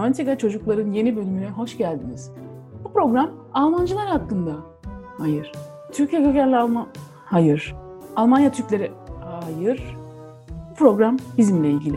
Romantika Çocukların yeni bölümüne hoş geldiniz. Bu program Almancılar hakkında. Hayır. Türkiye kökenli Alman... Hayır. Almanya Türkleri... Hayır. Bu program bizimle ilgili.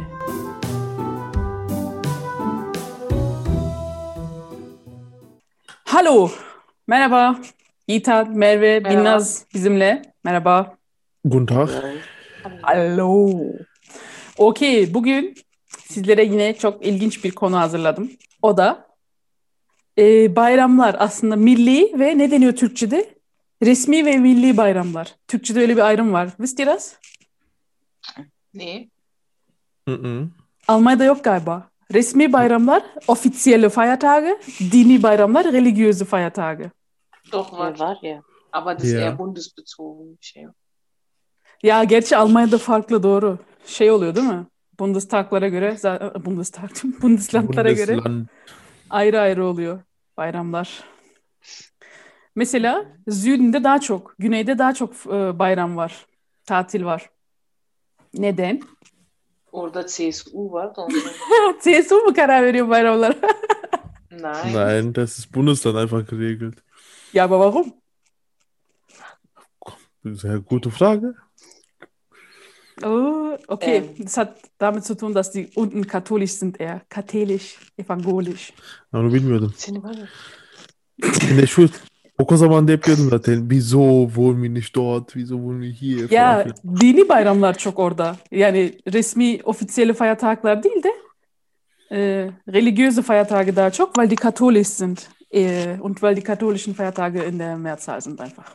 Hallo. Merhaba. Yiğitan, Merve, Merhaba. Binnaz bizimle. Merhaba. Guten Tag. Hallo. Okey, bugün sizlere yine çok ilginç bir konu hazırladım. O da bayramlar aslında milli ve ne deniyor Türkçe'de? Resmi ve milli bayramlar. Türkçe'de öyle bir ayrım var. Wisst ihr das? Nee. Mhm. Almanya'da yok galiba. Resmi bayramlar, offizielle Feiertage, dini bayramlar, religiöse Feiertage. Doch, Ja, war ja. aber das ist Ja. eher bundesbezogen. bir şey. Ya gerçi Almanya'da farklı doğru. Şey oluyor değil mi? Bundestaglara göre, Bundeslandlara göre Bundesland. ayrı ayrı oluyor bayramlar. Mesela Südünde daha çok, güneyde daha çok bayram var, tatil var. Neden? Orada CSU var da ondan. CSU mu karar veriyor bayramlara? Nein. Nein, das ist Bundesland einfach geregelt. Ya aber warum? Sehr gute Frage. Oh, okay, Ähm. das hat damit zu tun, dass die unten katholisch sind eher. Katholisch, evangelisch. Onu bilmiyordum. Seni var ya. In der Schule, o zaman da yapıyordum zaten. Wieso wohnen wir nicht dort? Wieso wohnen wir hier? Falan Ya filan. dini bayramlar çok orada. Yani resmi, offizielle Feiertagler değil de religiöse Feiertage daha çok, weil die katholisch sind. Und weil die katholischen Feiertage in der Mehrzahl sind einfach.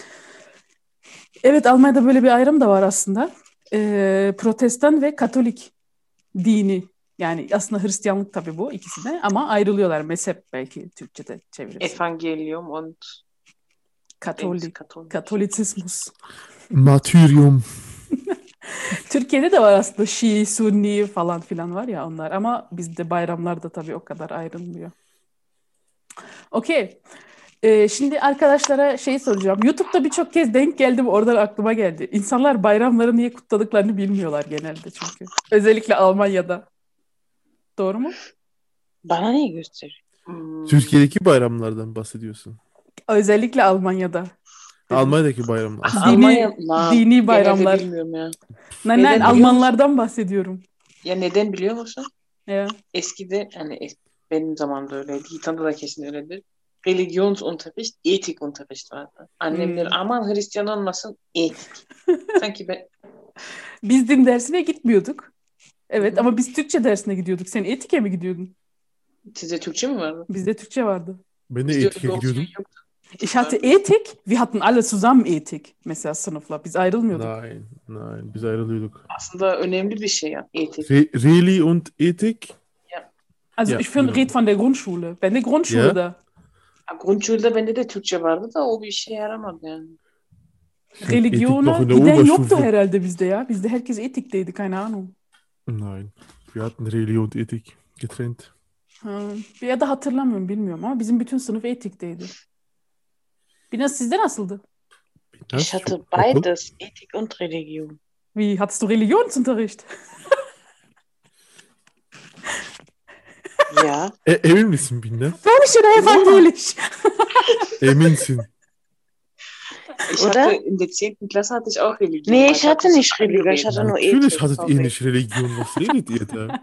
Evet, Almanya'da böyle bir ayrım da var aslında. Protestan ve Katolik dini. Yani aslında Hristiyanlık tabii bu ikisi de ama ayrılıyorlar. Mezhep belki Türkçe'de çeviririz. Evangelium und Katolik, Katolik. Katolizismus. Martyrium. Türkiye'de de var aslında Şii, Sunni falan filan var ya onlar ama bizde bayramlar da tabii o kadar ayrılmıyor. Okey. Şimdi arkadaşlara şey soracağım. YouTube'da birçok kez denk geldim, oradan aklıma geldi. İnsanlar bayramları niye kutladıklarını bilmiyorlar genelde çünkü. Özellikle Almanya'da. Doğru mu? Bana niye gösteriyor? Türkiye'deki bayramlardan bahsediyorsun. Özellikle Almanya'da. Almanya'daki bayramlar. Dini bayramlar. Genelde bilmiyorum ya. Nein, Neden biliyor Almanlardan bahsediyorum. Ya neden biliyor musun? Ya. Eskide hani benim zamanımda öyleydi. Yiğitan'da da kesin öyledir. Religionsunterricht, Ethikunterricht vardı. Annemler aman Hristiyan olmasın, etik. Sanki ben Biz din dersine gitmiyorduk. Evet Hı hı. ama biz Türkçe dersine gidiyorduk. Sen etike mi gidiyordun? size Türkçe mi vardı? Bizde Türkçe vardı. Ben de Bizde Ethik'e öyle gidiyordum. opsiyon yoktu. Ich hatte Ethik. Wir hatten alle zusammen Ethik. Mesela sınıfla. Biz ayrılmıyorduk. Nein, biz ayrılıyorduk. Aslında önemli bir şey ya, etik. Reli und Ethik? Also Ja, ich genau. rede von der Grundschule. Ben de Grundschule Ja. da. Grundschulda bende de Türkçe vardı da o bir işe yaramadı yani. Ethik noch Religiona in der giden yoktu Oberstufe. herhalde bizde ya. Bizde herkes etikteydi. Keine Ahnung. Nein, wir hatten Reli und Ethik getrennt. Ya da hatırlamıyorum, bilmiyorum ama bizim bütün sınıf etikteydi. Biraz sizde nasıldı? Ich hatte beides, Ethik und Religion. Wie, hattest du Religionsunterricht? Ja. Emin misin Binnaz? Katholisch oder evangelisch? Eminsin. Ich Oder? hatte in der 10. Klasse hatte ich auch Religion. Nee, aber ich hatte das nicht Religion, ich hatte nur Natürlich Ethik. hattet ihr nicht Religion. Was redet ihr da?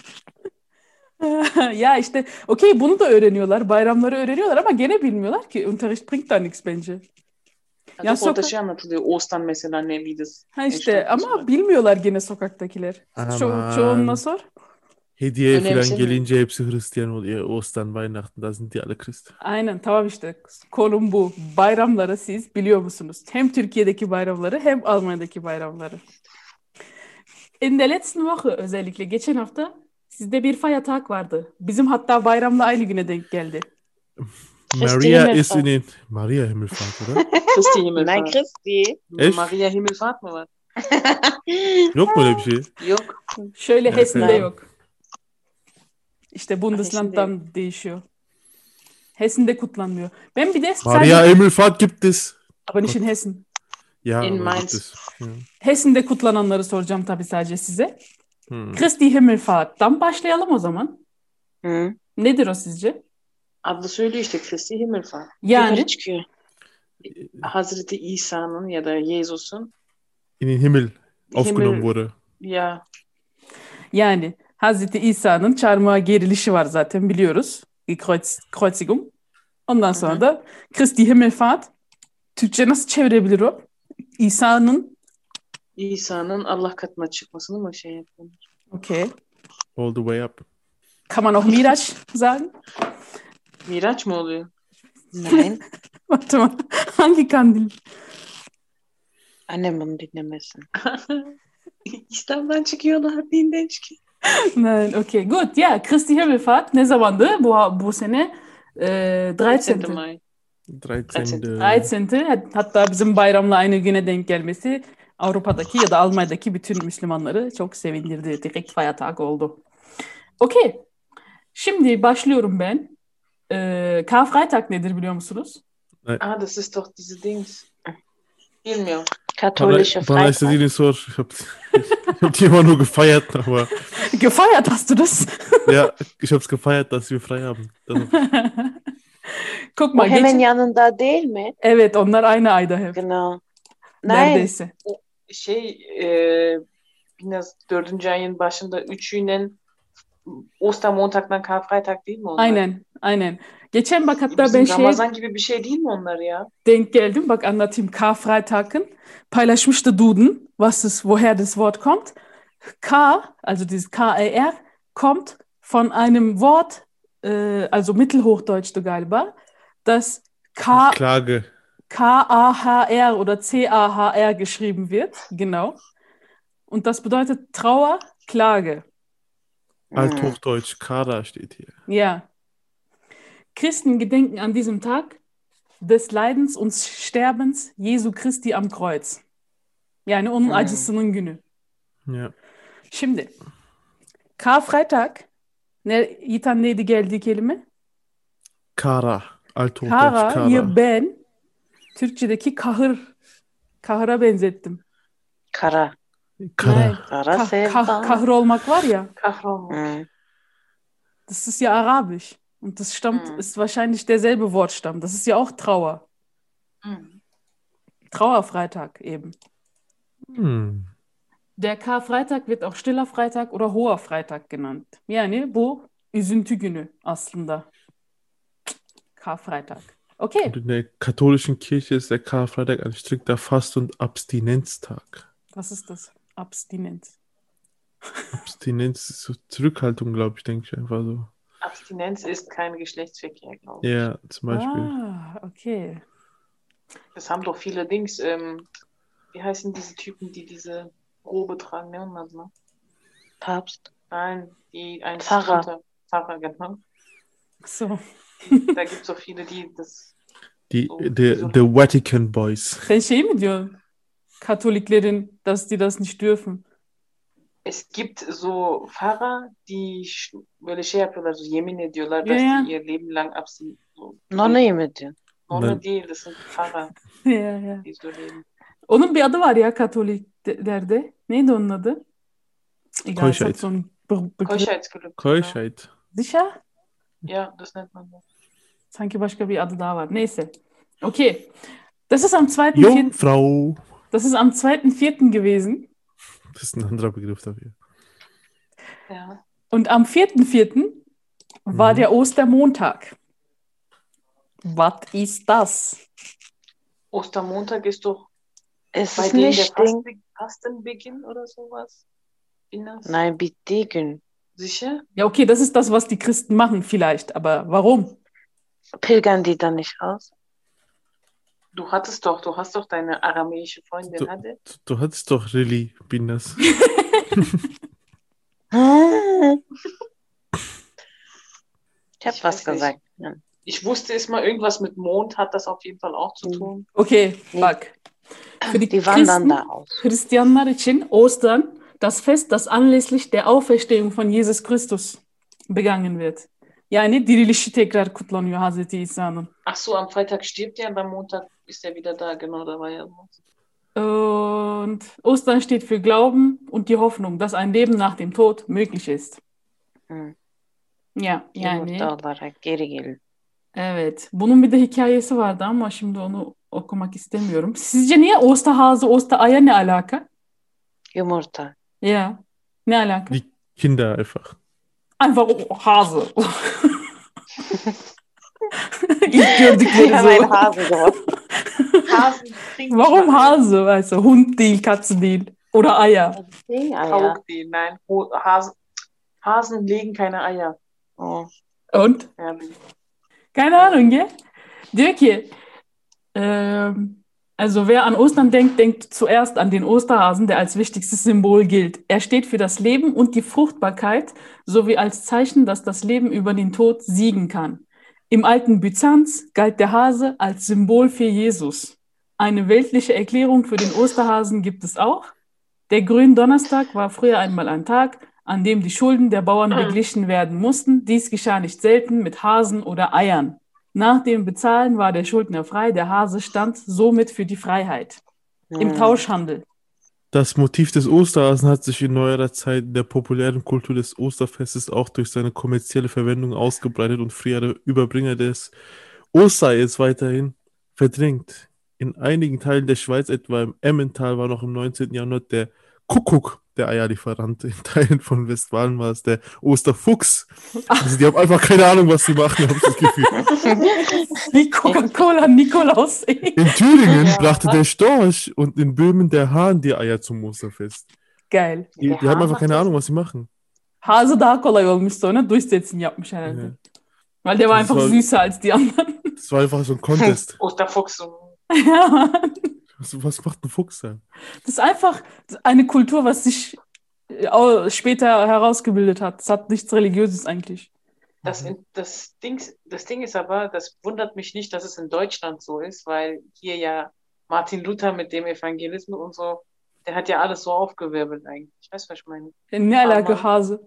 Ya işte okey, bunu da öğreniyorlar. Bayramları öğreniyorlar ama gene bilmiyorlar ki. Unterricht bringt da nichts bence. Also Ya orada sokak- şey anlatılıyor. Ostern mesela ne wie das Ha işte entstanden ama ist. bilmiyorlar gene sokaktakiler. Aman. Çoğunla sor. Hediye falan Önemsemiyorum. gelince hepsi Hristiyan oluyor. Ostern, Weihnachten, da sind die alle Christen. Aynen, tamam işte. Konum bu. Bayramları siz biliyor musunuz? Hem Türkiye'deki bayramları hem Almanya'daki bayramları. In der letzten Woche özellikle geçen hafta sizde bir Feiertag vardı. Bizim hatta bayramla aynı güne denk geldi. Maria ist Himmelfahrt. in den... Maria Himmelfahrt, oder? Christi Nein, Himmelfahrt. Christi. Echt? Maria Himmelfahrt mı var? Yok mu öyle bir şey? Yok. Şöyle Evet, Hessen'de evet. yok. İşte Bundesland'dan değişiyor. Hessen'de kutlanmıyor. Ben bir de Maria Himmelfahrt gibt es. aber nicht in Hessen. Ja, In aber Mainz. gibt es. Ja. Hessen'de kutlananları soracağım tabii sadece size. Hm. Christi Himmelfahrt'tan başlayalım o zaman. Hm. Nedir o sizce? Adı söylüyor işte Kristi Himmelfahrt. Yani Yukarı çıkıyor. Hazreti İsa'nın ya da Jesus'un In den Himmel aufgenommen Himmel wurde. ya yani Hazreti İsa'nın çarmıha gerilişi var zaten biliyoruz. Kreuzigung. Ondan hı sonra hı. da Christi Himmelfahrt. Türkçe nasıl çevirebilir o? İsa'nın İsa'nın Allah katına çıkmasını mı şey yapıyor? okay. All the way up. Kann man auch Miraç sagen? Miraç mı oluyor? Nein. Warte mal. Hangi kandil? Annem bunu dinlemesin. İslam'dan çıkıyorlar, dinden çıkıyor. Nein, okay. Gut, ja, Christi Himmelfahrt ne zamandı? Bu sene 13. May. 13. 13. Hatta bizim bayramla aynı güne denk gelmesi Avrupa'daki ya da Almanya'daki bütün Müslümanları çok sevindirdi. Direkt Feiertag oldu. Okay. Şimdi başlıyorum ben. Karfreitag nedir biliyor musunuz? Ah, das ist doch diese Dings. Bilmiyorum. Katholische Bana istediğini Freitag. sor. Ich hab die immer nur gefeiert, aber Gefeiert hast du das? ja, ich hab's gefeiert, dass wir frei haben. Das Guck O mal, hemen yanında değil mi? evet onlar aynı ayda hep. Genau. Nein. Neredeyse. Şey biraz 4. ayın başında üçüyle Ostermontag'dan Karfreitag değil mi onlar? Aynen. Geçen bak hatta Bizim ben şeye Ramazan gibi bir şey değil mi onlar ya? denk geldim. Bak anlatayım. Karfreitag'ın paylaşmıştı Duden, woher das Wort kommt. K, also dieses K-A-R, kommt von einem Wort, also Mittelhochdeutsch'tu galiba, das Klage. K-A-H-R oder C-A-H-R geschrieben wird. Genau. Und das bedeutet Trauer, Klage. Althochdeutsch, Kara steht hier. Ja. Christen gedenken an diesem Tag des Leidens und Sterbens Jesu Christi am Kreuz. Yani onun acısının günü. Ja. Şimdi Karfreitag Yiğitan neydi geldiği kelime? Kara. Althochdeutsch, Kara, Kara. ya ben Türkçedeki kahıra benzettim. Kara. Kara. Nein. Kara sevda. Kahır olmak var ya. Kahrolmak. Hm. Das ist ja arabisch. Und das stammt, ist wahrscheinlich derselbe Wortstamm. Das ist ja auch Trauer. Trauerfreitag eben. Der Karfreitag wird auch Stiller Freitag oder Hoher Freitag genannt. Yani bu üzüntü günü aslında. Karfreitag. Okay. Und in der katholischen Kirche ist der Karfreitag ein strikter Fast- und Abstinenztag. Was ist das? Abstinenz. Abstinenz ist so Zurückhaltung, glaube ich, denke ich einfach so. Abstinenz ist kein Geschlechtsverkehr, glaube ich. Ja, zum Beispiel. Ah, okay. Das haben doch viele Dings. Wie heißen diese Typen, die diese Robe tragen? Ne? Ne? Papst. Nein, die ein Pfarrer. Pfarrer, genau. So. Da gibt es auch viele, die das. Die, so, the Vatican Boys. Sen şey mi diyorsun? Katoliklerin, dass die das nicht dürfen. Es gibt so Pfarrer, die böyle şey yapıyorlar, so yemin ediyorlar, dass Ja. die ihr Leben lang abstinent. So, Nonne mi diyorsun? Nonne değil, das sind Pfarrer, Ya. die so leben. Onun bir adı var ya Katoliklerde. Neydi onun adı? Egal, es Keuschheit. hat so einen Begriff. Keuschheitsgelübde. Keuschheit. Sicher? Ja, das nennt man so. Sanki başka bir adı daha var. Neyse. Okay. Das ist am 2.4. Jungfrau. Das ist am 2.4. gewesen. Das ist ein anderer Begriff dafür. Ja. Und am 4.4. war der Ostermontag. Was ist das? Ostermontag ist doch Es bei ist denen nicht der Ding. Fastenbeginn oder sowas. Innas. Nein, bittiği gün. Sicher? Ja, okay, das ist das, was die Christen machen vielleicht. Aber warum? Pilgern die dann nicht aus? Du hast doch deine aramäische Freundin, hatte. Du hattest doch Lilly Binas. Ich habe Ich was weiß nicht. gesagt. Ja. Ich wusste es mal, irgendwas mit Mond hat das auf jeden Fall auch zu tun. Okay, bak. Für die Die wandern Christen, da aus. Hristiyanlar için Ostern das Fest, das anlässlich der Auferstehung von Jesus Christus begangen wird. Yani dirilişi tekrar kutlanıyor Hazreti İsa'nın. Ach so, am Freitag stirbt er und am Montag ist er wieder da. Genau, da war ja was. Und Ostern steht für Glauben und die Hoffnung, dass ein Leben nach dem Tod möglich ist. Hm. Ya yani Yumurta olarak geri gelin. evet. Bunun bir de hikayesi vardı ama şimdi onu okumak istemiyorum. Sizce niye Osterhase, Ostereier ne alaka? Yumurta. Ya ne alaka? Die Kinder einfach. Einfach Hase. İlk gördükleri Hemen so. Hase geworden. Hasen trinken Warum mal Eier. Hase? Weißt du, Hund değil, Katze değil. Oder Eier. Eier. Tauch die, nein. Hasen legen keine Eier. Oh. Und? Herrlich. Keine Ahnung, gell? Diyor ki, also wer an Ostern denkt, denkt zuerst an den Osterhasen, der als wichtigstes Symbol gilt. Er steht für das Leben und die Fruchtbarkeit sowie als Zeichen, dass das Leben über den Tod siegen kann. Im alten Byzanz galt der Hase als Symbol für Jesus. Eine weltliche Erklärung für den Osterhasen gibt es auch. Der Gründonnerstag war früher einmal ein Tag, an dem die Schulden der Bauern beglichen werden mussten. Dies geschah nicht selten mit Hasen oder Eiern. Nach dem Bezahlen war der Schuldner frei, der Hase stand somit für die Freiheit. Im Tauschhandel. Das Motiv des Osterhasen hat sich in neuerer Zeit in der populären Kultur des Osterfestes auch durch seine kommerzielle Verwendung ausgebreitet und frühere Überbringer des Ostereiers weiterhin verdrängt. In einigen Teilen der Schweiz, etwa im Emmental, war noch im 19. Jahrhundert der Kuckuck der Eierlieferant. In Teilen von Westfalen war es der Osterfuchs. Also die haben einfach keine Ahnung, was sie machen, habe ich das Gefühl. Wie Coca-Cola Nikolaus. In Thüringen Ja. brachte der Storch und in Böhmen der Hahn die Eier zum Osterfest. Geil. Die Der haben Hahn einfach macht keine das? Ahnung, was sie machen. Hase daha kolay olmuş sonra durchsetzen yapmış herhalde. Ja. Weil der war Das einfach war- süßer als die anderen. Das war einfach so ein Contest. Osterfuchs. So. Ja, Mann. Was macht ein Fuchs da? Das ist einfach eine Kultur, was sich auch später herausgebildet hat. Das hat nichts Religiöses eigentlich. Das Ding ist aber, das wundert mich nicht, dass es in Deutschland so ist, weil hier ja Martin Luther mit dem Evangelismus und so, der hat ja alles so aufgewirbelt eigentlich. Ich weiß, was ich meine. Ne alaka Aber- Hase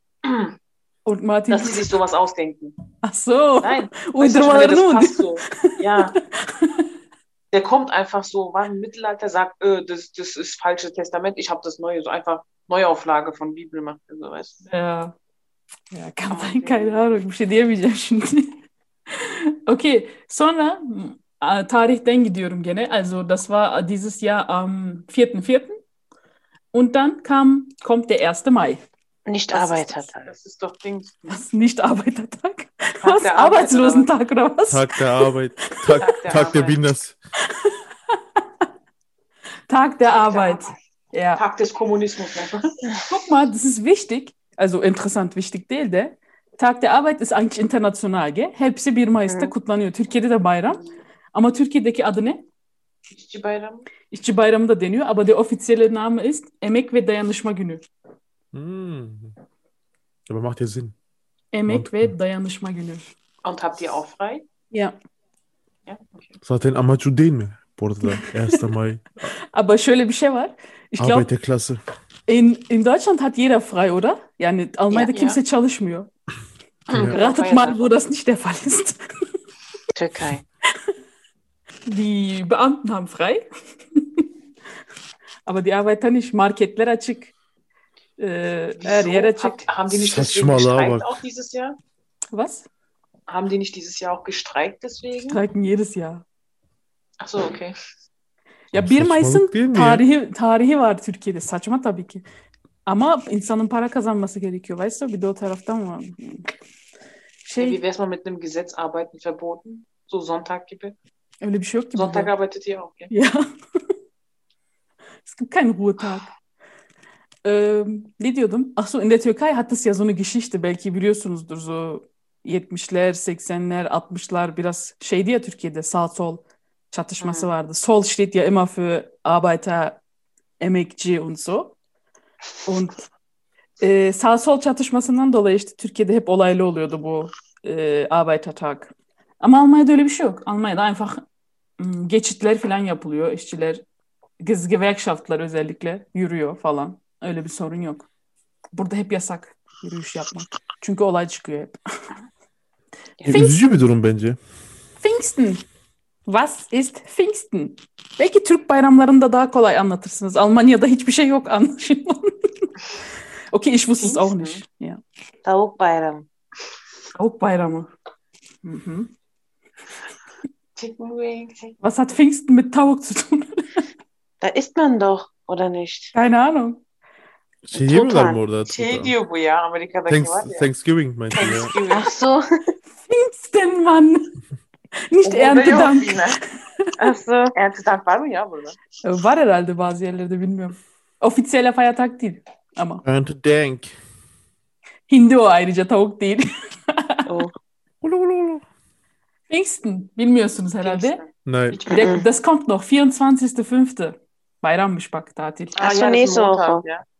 und Martin Dass sie sich sowas ausdenken. Ach so. Nein, weißt du, ich meine, Uydurmalarını das mı? passt so. Ja. Der kommt einfach so, war im Mittelalter, sagt, das ist falsches Testament, ich habe das Neue, so einfach Neuauflage von Bibel macht, so, weißt du. Ya. Ya keine Ahnung. Bir şey diyemeyeceğim şimdi. Okay. Sonra tarihten gidiyorum gene. Also das war dieses Jahr am 4.4. Und dann kommt der 1. Mai. Nicht Das Arbeitertag. Das ist doch Ding. Was? Nicht Arbeitertag? Tag Was? der Arbeit, Arbeitslosentag oder was? Tag der Arbeit. Tag der Arbeit. Binders. Tag der Arbeit. Ja. Tag des Kommunismus. Ne? Guck mal, das ist wichtig. Also interessant, wichtig değil de. Tag der Arbeit ist eigentlich international, gell? Hepsi 1 Mayıs'ta Hı. kutlanıyor. Türkiye'de de bayram. Ama Türkiye'deki adı ne? İşçi bayramı. İşçi Bayramı da deniyor. Aber der offizielle Name ist Emek ve Dayanışma Günü. Hm. Aber macht ja Sinn. Emek ve Dayanışma Günü. Und habt ihr auch frei? Ja. Ja, okay. Zaten amacı değil mi? Bu arada 1. May. Aber şöyle bir şey var. Ich glaube, Arbeiterklasse. in Deutschland hat jeder frei, oder? Yani Almanya'da Ja. kimse çalışmıyor. Ja. Ratet mal, wo das nicht der Fall ist. Türkei. Die Beamten haben frei. Aber die Arbeiter nicht. Marketler açık. Her yer açık. Haben die nicht deswegen Saçmalama gestreikt bak. auch dieses Jahr? Was? Haben die nicht dieses Jahr auch gestreikt deswegen? Streiken jedes Jahr. Ach so, okay. Ya Saçmalık 1 Mayıs'ın değil mi ya? tarihi var Türkiye'de. Saçma tabii ki. Ama insanın para kazanması gerekiyor. Weißt du? Bir de o taraftan var. Wie wäre es mal mit einem Gesetz arbeiten verboten? So Sonntag gibi. Öyle bir şey yok ki Sonntag burada. arbeitet ihr auch, ja? Ja. Es gibt keinen Ruhetag. Ne diyordum? Ach so, in der Türkei hat es ja so eine Geschichte. Belki biliyorsunuzdur. So 70'ler, 80'ler, 60'lar biraz şeydi ya Türkiye'de sağ sol çatışması vardı. Sol steht ja immer für Arbeiter, Emekçi und so. Und sağ sol çatışmasından dolayı işte Türkiye'de hep olaylı oluyordu bu Arbeitertag. Ama Almanya'da öyle bir şey yok. Almanya'da einfach geçitler falan yapılıyor. İşçiler, Gewerkschaftlar özellikle yürüyor falan. Öyle bir sorun yok. Burada hep yasak yürüyüş yapmak. Çünkü olay çıkıyor hep. Üzücü bir durum bence. Pfingsten. Was ist Pfingsten? Belki Türk bayramlarında daha kolay anlatırsınız. Almanya'da hiçbir şey yok anlaşılan. Okay, ich wusste es auch nicht. Ja. Tavuk bayramı. Tavuk bayramı. Mhm. Chicken Wings. Was hat Pfingsten mit Tavuk zu tun? Da isst man doch, oder nicht? Keine Ahnung. Şey yemiyorlar mı Tutan. orada? Şey Tutan? diyor bu ya, Amerika'daki var ya. Thanksgiving meinte ya. Thanksgiving. Ach so. Pfingsten, Mann. Nicht O burada yok Erntedank. yine. Ach so. Erntedank var mı ya burada? Var herhalde bazı yerlerde, bilmiyorum. Offizielle Feiertag değil ama. Erntedank. Hindi o, ayrıca tavuk değil. Oh. Ulu ulu ulu. Pfingsten bilmiyorsunuz herhalde. Pfingsten. Nein. Hiç bilmiyorum. Das kommt noch, 24.05. Bayrammış bak, tatil. Ach so, das ist nächste Montag, Woche. ja.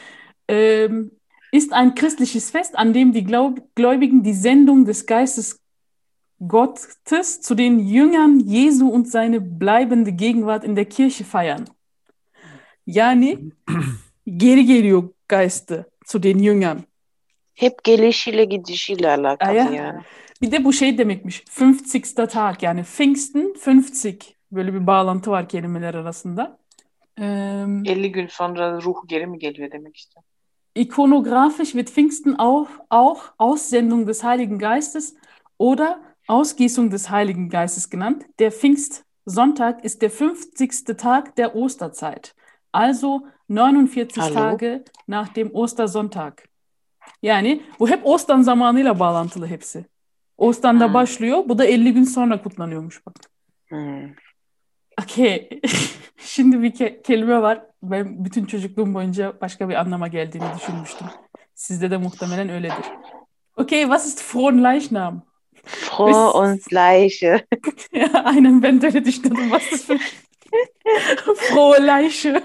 Ist ein christliches Fest, an dem die Gläubigen die Sendung des Geistes Gottes zu den Jüngern Jesu und seine bleibende Gegenwart in der Kirche feiern. Yani geri geliyor Geist'ı zu den Jüngern. Hep gelişiyle gidişiyle alakalı Ja. yani. Bir de bu şey demekmiş. 50. Tag, yani Pfingsten 50. Böyle bir bağlantı var kelimeler arasında. 50 gün sonra ruh geri mi geliyor demek işte. Ikonografisch wird Pfingsten auch Aussendung des Heiligen Geistes oder Ausgießung des Heiligen Geistes genannt. Der Pfingstsonntag ist der 50. Tag der Osterzeit, also 49 Hallo? Tage nach dem Ostersonntag. Yani bu hep Ostern zamanıyla bağlantılı hepsi. Oster'da başlıyor, bu da 50 gün sonra kutlanıyormuş bak. Hmm. Okay. Şimdi bir kelime var. Ben bütün çocukluğum boyunca başka bir anlama geldiğini düşünmüştüm. Sizde de muhtemelen öyledir. Okay, was ist Fronleichnam? Froh und Leiche. Ja, aynen, ben de öyle düşünüyordum. Was ist für Frohe Leiche?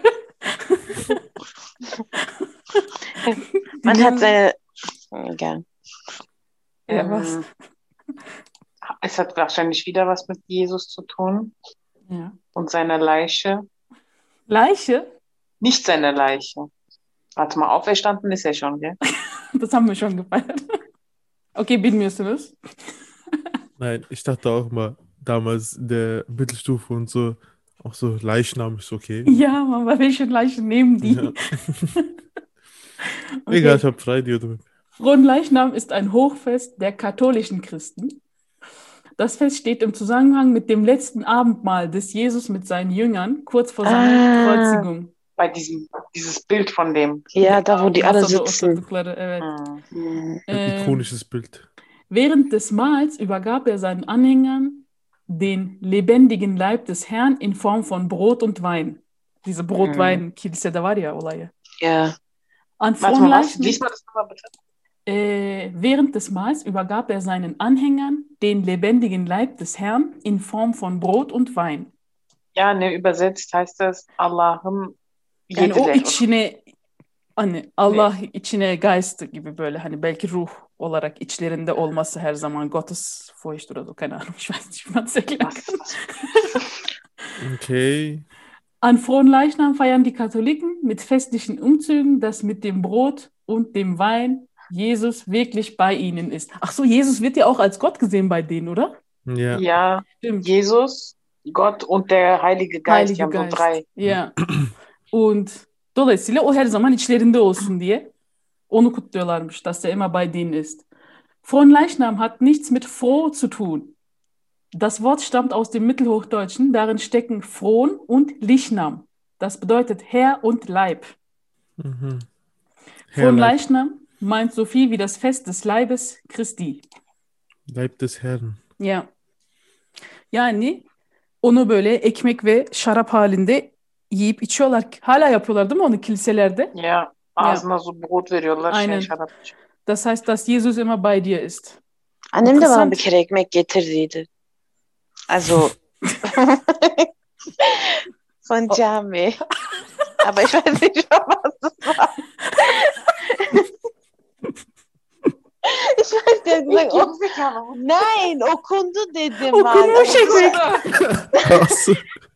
Man hat seine... Egal. Ja, was? Es hat wahrscheinlich wieder was mit Jesus zu tun Ja. und seiner Leiche. Leiche? Nicht seiner Leiche. Warte mal, auferstanden ist er schon, gell? Das haben wir schon gefeiert. Okay, bilmiyorsunuz. Nein, ich dachte auch mal, damals der Mittelstufe und so, auch so Leichnam ist okay. Ja, aber welche Leiche nehmen die? Ja. Okay. Egal, ich habe frei diyordum. Fronleichnam ist ein Hochfest der katholischen Christen. Das Fest steht im Zusammenhang mit dem letzten Abendmahl des Jesus mit seinen Jüngern kurz vor seiner Kreuzigung. Bei dieses Bild von dem. Ja, da wo die alle Masada sitzen. oturdukları, evet. Ein ikonisches Bild. Während des Mahls übergab er seinen Anhängern den lebendigen Leib des Herrn in Form von Brot und Wein. Diese Brot-Wein-Kilisede var ya olayı. Ja. An Warte mal, was? Fronleichnam, Lies mal das nochmal bitte. während des Mahls übergab er seinen Anhängern den lebendigen Leib des Herrn in Form von Brot und Wein. Ja, ne, übersetzt heißt das Allah'ım Yani o yediler. içine, hani Allah içine Geist gibi, böyle hani belki ruh olarak içlerinde olması her zaman Gottes Furcht oder so, keine Ahnung, ich weiß nicht, wie man es erklären Was kann. ist das? Okay. An Fronleichnam feiern die Katholiken mit festlichen Umzügen, dass mit dem Brot und dem Wein Jesus wirklich bei ihnen ist. Ach so, Jesus wird ja auch als Gott gesehen bei denen, oder? Ja. Ja, Stimmt. Jesus, Gott und der Heilige Geist, die haben so drei. Ya. Und dolayısıyla o her zaman içlerinde olsun diye onu kutluyorlarmış, dass er immer bei denen ist. Fronleichnam hat nichts mit froh zu tun. Das Wort stammt aus dem Mittelhochdeutschen, darin stecken Fron und Lichnam. Das bedeutet Herr und Leib. Mhm. Fronleichnam meint so viel wie das Fest des Leibes Christi. Leib des Herrn. Ya. Yani onu böyle ekmek ve şarap halinde yiyip içiyorlar. Hala yapıyorlar değil mi onu kiliselerde? Ja, ağzına so Brot veriyorlar, Aynen. şarap. Das heißt, dass Jesus immer bei dir ist. Annem de bana Interessant. bir kere ekmek getirdiydi. Also von Cami. Aber ich weiß nicht mehr, was das war. Ich weiß, der hat gesagt, oh, nein, okundu dedim. Okunmuş ekmek. Krass.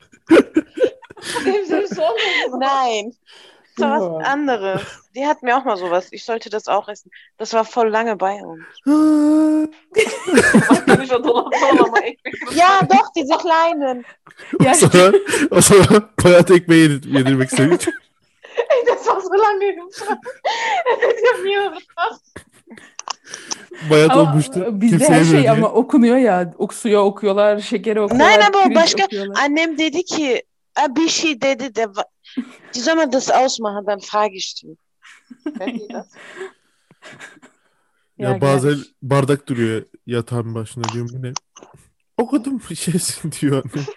Nein, das war was anderes. Die hat mir auch mal sowas. Ich sollte das auch essen. Das war voll lange bei uns. Ja, doch, diese kleinen. Ya, O zaman bayat ekmeği yedirmek istedik. Ey, das war so lange im Schrank. Das ist ja mir krass. Bayat Ama olmuştu. bizde Kimse her şey yemiyor diye. ama okunuyor ya. Suya okuyorlar, şekeri okuyorlar, Nein, aber pirinç başka okuyorlar. annem dedi ki bir şey dedi de die soll man das ausmachen, dann frage ich die. Kennt ihr das? Ya Ya bazen gel. bardak duruyor yatağın başına, diyorum bu ne? Okudum bir şeysin diyor annem.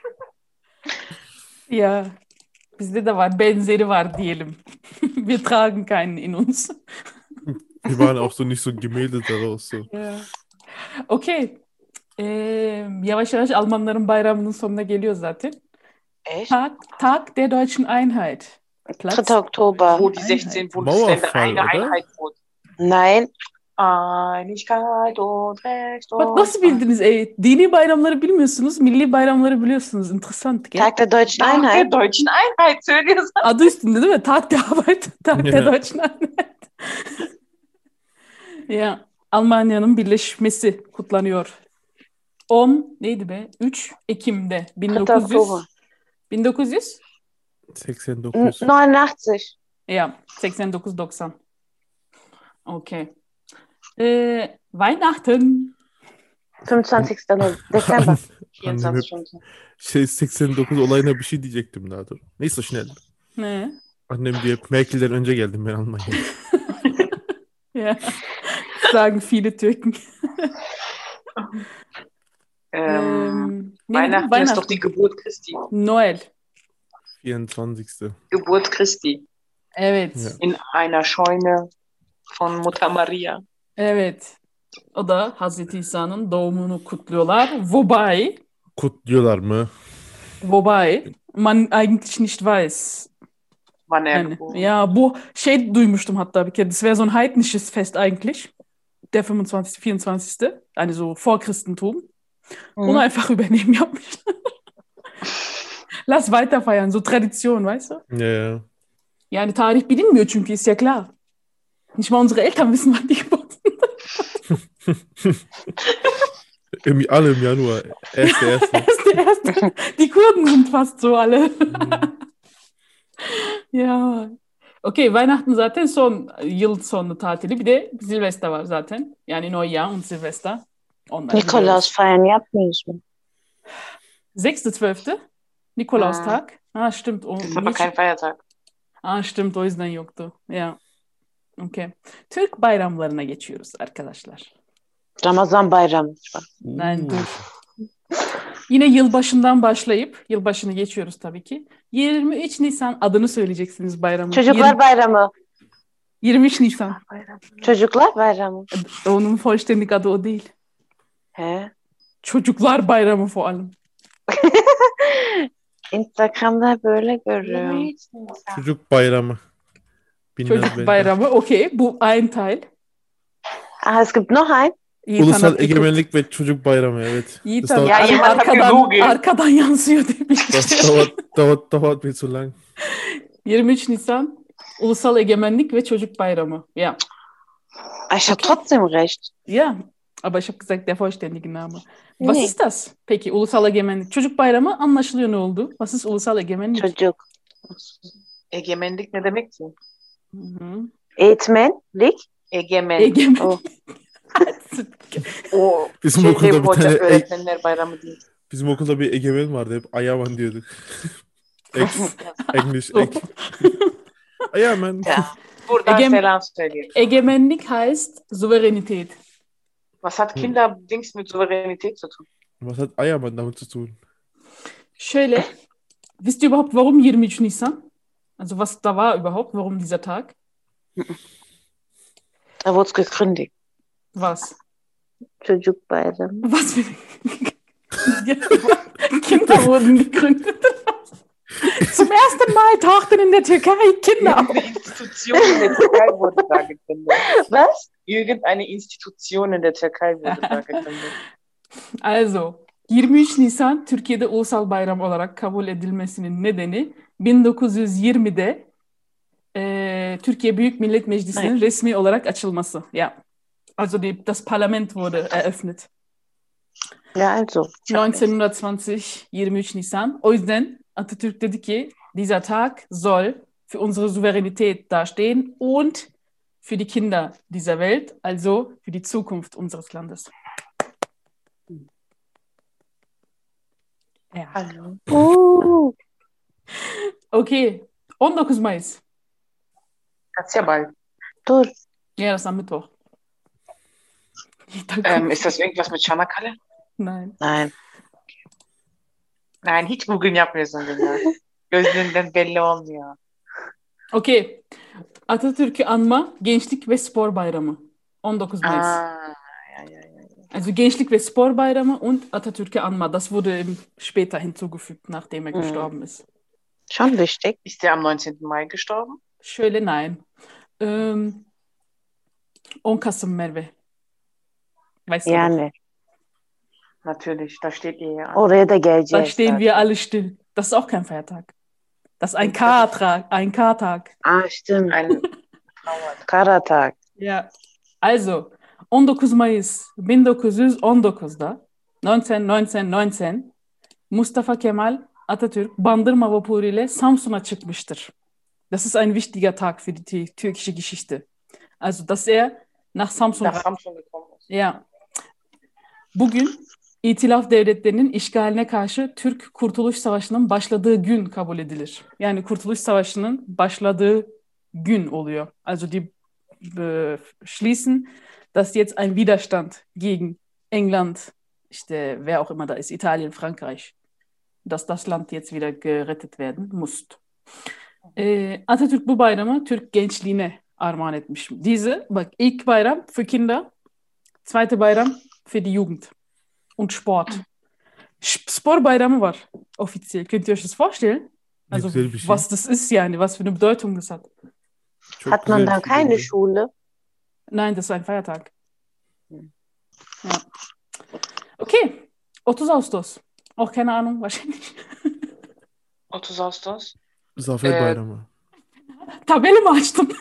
Ja, bizde de var. Benzeri var diyelim. Wir tragen keinen in uns. Wir waren auch so nicht so gemeldet daraus so. Ja. Okay. Yavaş yavaş Almanların bayramının sonuna geliyor zaten. Echt? Tag der Deutschen Einheit. 3. Oktober. Wo die Einheit. 16 Bundesländer Mauerfall, eine oder? Einheit wurden. Nein. Einigkeit und Recht Bak und nasıl bildiniz ey? Dini bayramları bilmiyorsunuz, milli bayramları biliyorsunuz. Interessant, gell? Tag der Deutschen Tag der Einheit. Deutschen Einheit söylüyorsun. Adı üstünde değil mi? Tag der Arbeit, Tag der Ja. Deutschen Einheit. Ya, Almanya'nın birleşmesi kutlanıyor. 10 neydi be? 3 Ekim'de 3. Oktober. 1900 89. 89. ya 89-90. Okay. Weihnachten. 25. Dezember. 24 Stunden. Şey 89 olayına bir şey diyecektim daha doğrusu. Neyse schnell. Ne? Annem diye Merkel'den önce geldim ben Almanya'ya. Ja. Sagen viele Türken. Ne dedim? Weihnachten ist doch die Geburt Christi. Noel. 24. Geburt Christi. Evet. Ja. In einer Scheune von Mutter Maria. Evet. O da Hazreti İsa'nın doğumunu kutluyorlar. Kutluyorlar mı? Wobei man eigentlich nicht weiß. Wann er Yani, geboren ja, bu şey duymuştum hatta bir kere. Das wäre so ein heidnisches Fest eigentlich. Der 25., 24. Yani so vor Christentum. Onu einfach übernehmen yapmışlar. Lass weiter feiern. So Tradition, weißt du? Ja, ja. Yani tarih bilinmiyor çünkü, ist ja klar. Nicht mal unsere Eltern wissen, wann die geboren sind. Alle im Januar. Erste. Erste. Die Kurden sind fast so alle. Ya. Okay, Weihnachten zaten son yıl sonu tatili. Bir de Silvester var zaten. Yani Neujahr und Silvester. Onları Nikolaus biliyoruz. feiern yapmıyoruz mu? 6.12. Nikolaustag. Ah, stimmt. Das ist aber kein Feiertag. Ah, stimmt. O yüzden yoktu. Ya. Okay. Türk bayramlarına geçiyoruz arkadaşlar. Ramazan bayramı. Ben dur. Yine yılbaşından başlayıp yılbaşını geçiyoruz tabii ki. 23 Nisan adını söyleyeceksiniz bayramın. Çocuklar bayramı. 23 Nisan. Çocuklar bayramı. Onun vollständig adı o değil. He? Çocuklar bayramı falan. Instagram'da böyle görüyorum. Çocuk bayramı. Bilmez Çocuk belki. bayramı. Okay, bu ein Teil. Ah, es gibt noch ein. Yiğit Ulusal Hanat geguckt. Egemenlik ve Çocuk Bayramı, evet. Yiğit Das Hanat dauert, Ja, jemand hat gegoogelt. arkadan yansıyor demiş. das dauert mir zu lang. 23 Nisan Ulusal Egemenlik ve Çocuk Bayramı. Ja. Ich habe trotzdem recht. Ja, aber ich habe gesagt der vollständige Name. Was Nee. ist das? Peki Ulusal Egemenlik. Çocuk Bayramı anlaşılıyor ne oldu? Was ist Ulusal Egemenlik? Çocuk. Egemenlik ne demek ki? Mhm. Eğitmenlik. Egemen. Egemenlik. Oh. O Bizim şey okulda bir hoca tane öğretmenler bayramı değil. bizim okulda bir egemen vardı, hep Ayaman diyorduk. English So. Ayaman. Ja. Buradan Egem- selam söyleyelim. Egemenlik heißt Souveränität. Was hat Kinderdings mit Souveränität zu tun? Was hat Ayaman damit zu tun? Şöyle, wisst ihr überhaupt, warum 23 Nisan? Also was da war überhaupt, warum dieser Tag? Da wurde es gegründet. Was? Çocuk bayramı. Was für Kinder wurden gegründet. Zum ersten Mal tauchten in der Türkei Kinder auf. Irgendeine Institution in der Türkei wurde da gegründet. Was? Irgendeine Institution in der Türkei wurde da gegründet. Also, 23 Nisan Türkiye'de ulusal bayram olarak kabul edilmesinin nedeni 1920'de Türkiye Büyük Millet Meclisi'nin resmi olarak açılması. Ja. Also das Parlament wurde eröffnet. Ja, also. 1920, 23 Nisan. O yüzden Atatürk dedi ki, dieser Tag soll für unsere Souveränität dastehen und für die Kinder dieser Welt, also für die Zukunft unseres Landes. Ja. Hallo. Okay, 19 Mayıs. Das ist ja bald. Dur. Ja, das ist am Mittwoch. Ist das irgendwas mit Çanakkale? Nein. Nein. Nein, hiç Google yapmıyorsun ya. Gözlerinden belli olmuyor. Okay. Atatürk'ü anma Gençlik ve Spor Bayramı. 19 Mayıs. Ja. Also Gençlik ve Spor Bayramı und Atatürk'ü anma. Das wurde später hinzugefügt, nachdem er gestorben ist. Schon wichtig. Ist der am 19. Mai gestorben? Şöyle nein. 10 Kasım Merve. Weißt du doch. Yani. Natürlich, da steht ihr ja. Oraya da Da geleceğiz. stehen zaten. wir alle still. Das ist auch kein Feiertag. Das ist ein K-Tag. Ein K-Tag. Stimmt. Ein Trauertag. Karatag. Ja. Also, 19 Mayıs 1919'da 1919 Mustafa Kemal Atatürk Bandırma vapuru ile Samsun'a çıkmıştır. Das ist ein wichtiger Tag für die türkische Geschichte. Also, dass er nach Samsun Nach Samsun gekommen ist. Ja. Bugün İtilaf devletlerinin işgaline karşı Türk Kurtuluş Savaşı'nın başladığı gün kabul edilir. Yani Kurtuluş Savaşı'nın başladığı gün oluyor. Also die beschließen, dass jetzt ein Widerstand gegen England, işte wer auch immer da ist, Italien, Frankreich, dass das Land jetzt wieder gerettet werden muss. Atatürk bu bayramı Türk gençliğine armağan etmiş. Bak ilk bayram für Kinder, zweite Bayram für die Jugend und Sport. Spor bayramı var offiziell. Könnt ihr euch das vorstellen? Also Güzel bir şey. was das ist yani, was für eine Bedeutung das hat. Çok Hat man güzel da bir şey keine bence. Schule? Nein, das ist ein Feiertag. Ja. Okay, 30 Ağustos. Auch keine Ahnung, wahrscheinlich. 30 Ağustos. Zafer Bayramı. Tabela mı açtın?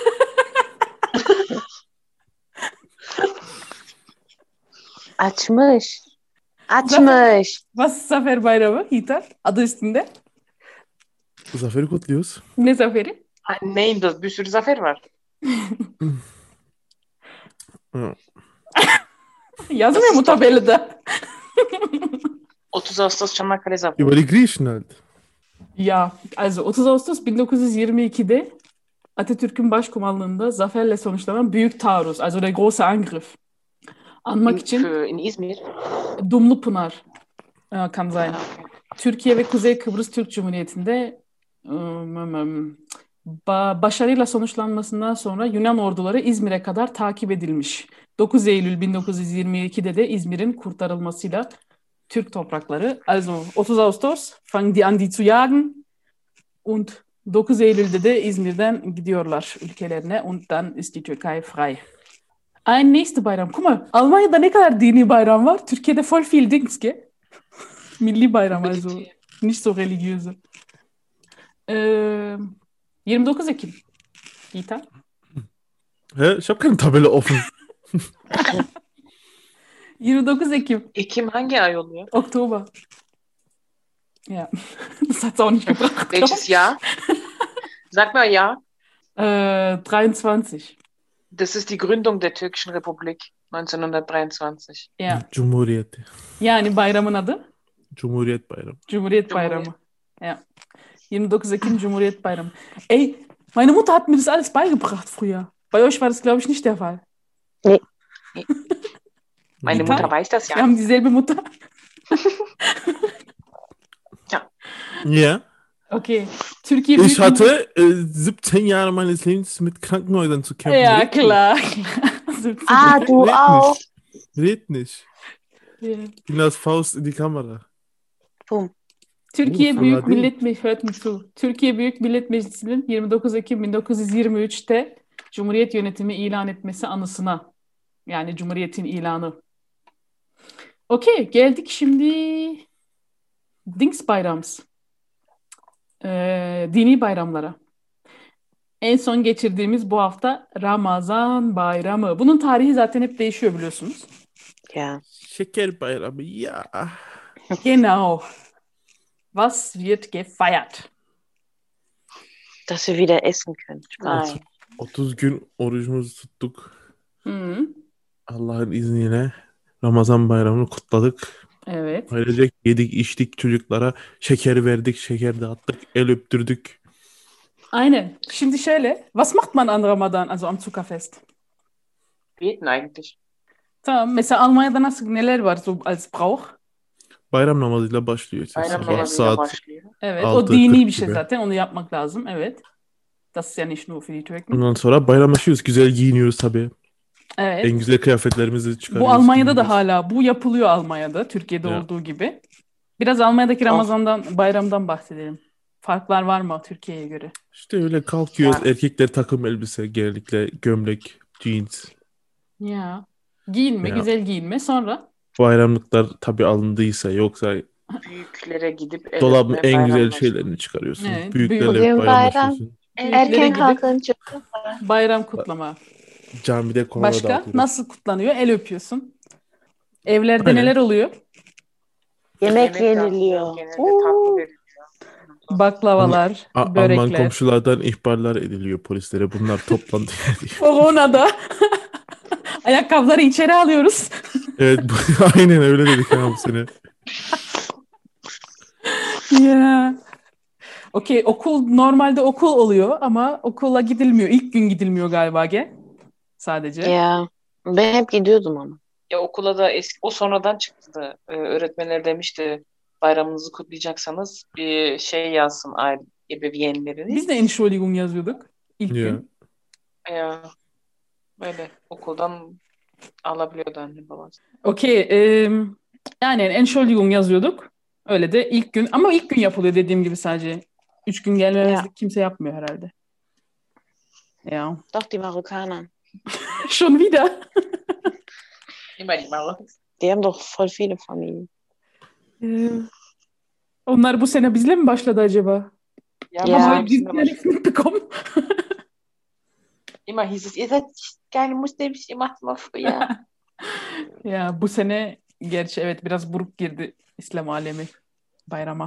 Açmış. Açmış. Was ist Zafer Bayramı? Hitar. Adı üstünde. Zafer'i kutluyoruz. Ne zaferi? Ha, neyin de bir sürü zafer var. Ja. Yazmıyor mu tabelada? 30 Ağustos Çanakkale Zaferi. Über die Griechen halt. Ya, also 30 Ağustos 1922'de Atatürk'ün başkumanlığında zaferle sonuçlanan Büyük Taarruz, also der große Angriff. Anmak için In İzmir. Dumlupınar kann sein. Türkiye ve Kuzey Kıbrıs Türk Cumhuriyeti'nde başarıyla sonuçlanmasından sonra Yunan orduları İzmir'e kadar takip edilmiş. 9 Eylül 1922'de de İzmir'in kurtarılmasıyla Türk toprakları, also 30 Ağustos fangen die an die zu jagen und 9 Eylül'de de İzmir'den gidiyorlar ülkelerine und dann ist die Türkei frei. Ein nächste Bayram. Guck mal, Almanya'da ne kadar dini bayram var? Türkiye'de voll viel Dings, gell? Milli bayram, also nicht so religiöse. 29 Ekim. Gita? Hä? Ich habe keine Tabelle offen. 29 Ekim. Ekim hangi ay oluyor? Oktober. Ja, das hat's auch nicht gebracht. Welches Jahr? Sag mal ja. 23. Das ist die Gründung der Türkischen Republik 1923. Ja. Cumhuriyet. Yani bayramın adı? Cumhuriyet Bayramı. Cumhuriyet Bayramı. Ja. 29 Ekim Cumhuriyet Bayramı. Ey, meine Mutter hat mir das alles beigebracht früher. Bei euch war das, glaube ich, nicht der Fall. Meine Gita? Mutter weiß das Wir ja. haben dieselbe Mutter. Ja. Okay. Türkiye Ich Büyük hatte 17 Jahre meines Lebens mit Krankenhäusern zu kämpfen. Ja, Red klar. Du auch. Red nicht. Ja. Inas Faust in die Kamera. Bum. Türkiye Uf, Büyük fena değil. Millet Meclisi, hört mir zu. Türkiye Büyük Millet Meclisi'nin 29 Ekim 1923'te Cumhuriyet yönetimi ilan etmesi anısına. Yani Cumhuriyet'in ilanı. Okey, geldik şimdi Dings Bayrams. Dini bayramlara. En son geçirdiğimiz bu hafta Ramazan Bayramı. Bunun tarihi zaten hep değişiyor biliyorsunuz. Ja. Şeker Bayramı. Ja. Genau. Was wird gefeiert? Dass wir wieder essen können. Nein. 30 gün orucumuzu tuttuk. Hı, Allah'ın izniyle Ramazan bayramını kutladık. evet. Ailecek yedik, içtik, çocuklara şeker verdik, şeker dağıttık, el öptürdük. Aynen. Şimdi şöyle. Was macht man an Ramadan, also am Zuckerfest? Beten eigentlich. Tamam. Mesela Almanya'da nasıl neler var so als Brauch? Bayram namazıyla başlıyor işte Bayram sabah namazıyla saat başlıyor. Evet. O 6.40 dini bir şey gibi. zaten. Onu yapmak lazım. Evet. Das ist ja nicht nur für die Türken. Ondan sonra bayramlaşıyoruz. Güzel giyiniyoruz tabii. En Evet. güzel kıyafetlerimizi Bu çıkarıyoruz, Almanya'da da giyiniyoruz. hala bu yapılıyor Almanya'da. Türkiye'de Ya. olduğu gibi. Biraz Almanya'daki Oh, Ramazan'dan, bayramdan bahsedelim. Farklar var mı Türkiye'ye göre? İşte öyle kalkıyoruz. ya. Erkekler takım elbise, genellikle gömlek, jeans. Ya. Giyinme, Ya güzel giyinme. Sonra bayramlıklar tabii alındıysa yoksa Büyüklere gidip el dolabın öpme, en güzel bayramlaşma. şeylerini çıkarıyorsun. evet, Büyüklerle büyük, Bugün bayram. bayramlaşıyorsun. büyüklere Erken gidip kalkın çocuklar. bayram kutlama. Camide korona Başka dağıtıyoruz. nasıl kutlanıyor? El öpüyorsun. Evlerde Aynen. neler oluyor? Yemek Yemek yapılıyor, yeniliyor. genelde tatlı veriliyor. Baklavalar, Alman börekler. komşulardan ihbarlar ediliyor polislere. Bunlar toplandı diye. Corona'da ayakkabıları içeri alıyoruz. Evet, aynen öyle dedik ha bu sene. Ya. Okey, normalde okul oluyor ama okula gidilmiyor. İlk gün gidilmiyor galiba sadece. Ya ben hep gidiyordum ama. Ya okula da o sonradan çıktı da öğretmenler demişti bayramınızı kutlayacaksanız bir şey yazsın aile ebeveynleriniz. Biz de Entschuldigung yazıyorduk ilk Ya. gün. Ya, böyle okuldan alabiliyordu anne babası. Okey, yani Entschuldigung yazıyorduk. Öyle de ilk gün ama ilk gün yapılıyor dediğim gibi sadece. 3 gün gelmemezlik kimse yapmıyor herhalde. Ya. Doch die Marokkaner. Schon wieder. Immer die Mauer. Die haben doch voll viele Familien. Onlar bu sene bizle mi başladı acaba? Ja, Ja. Ama aber biz de nichts mitbekommen. immer hieß es, ihr seid keine Muslims, ihr macht mal früher. Ya bu sene gerçi evet biraz buruk girdi İslam alemi bayrama.